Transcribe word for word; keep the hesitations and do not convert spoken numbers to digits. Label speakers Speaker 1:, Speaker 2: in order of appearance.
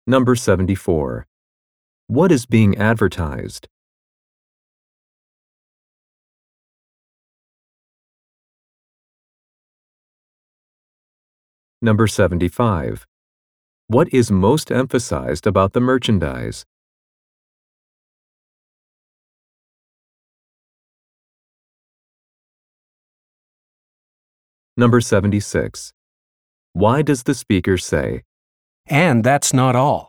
Speaker 1: Number seventy-four. What is being advertised? Number seventy-five. What is most emphasized about the merchandise? Number seventy-six. Why does the speaker say,
Speaker 2: And that's not all.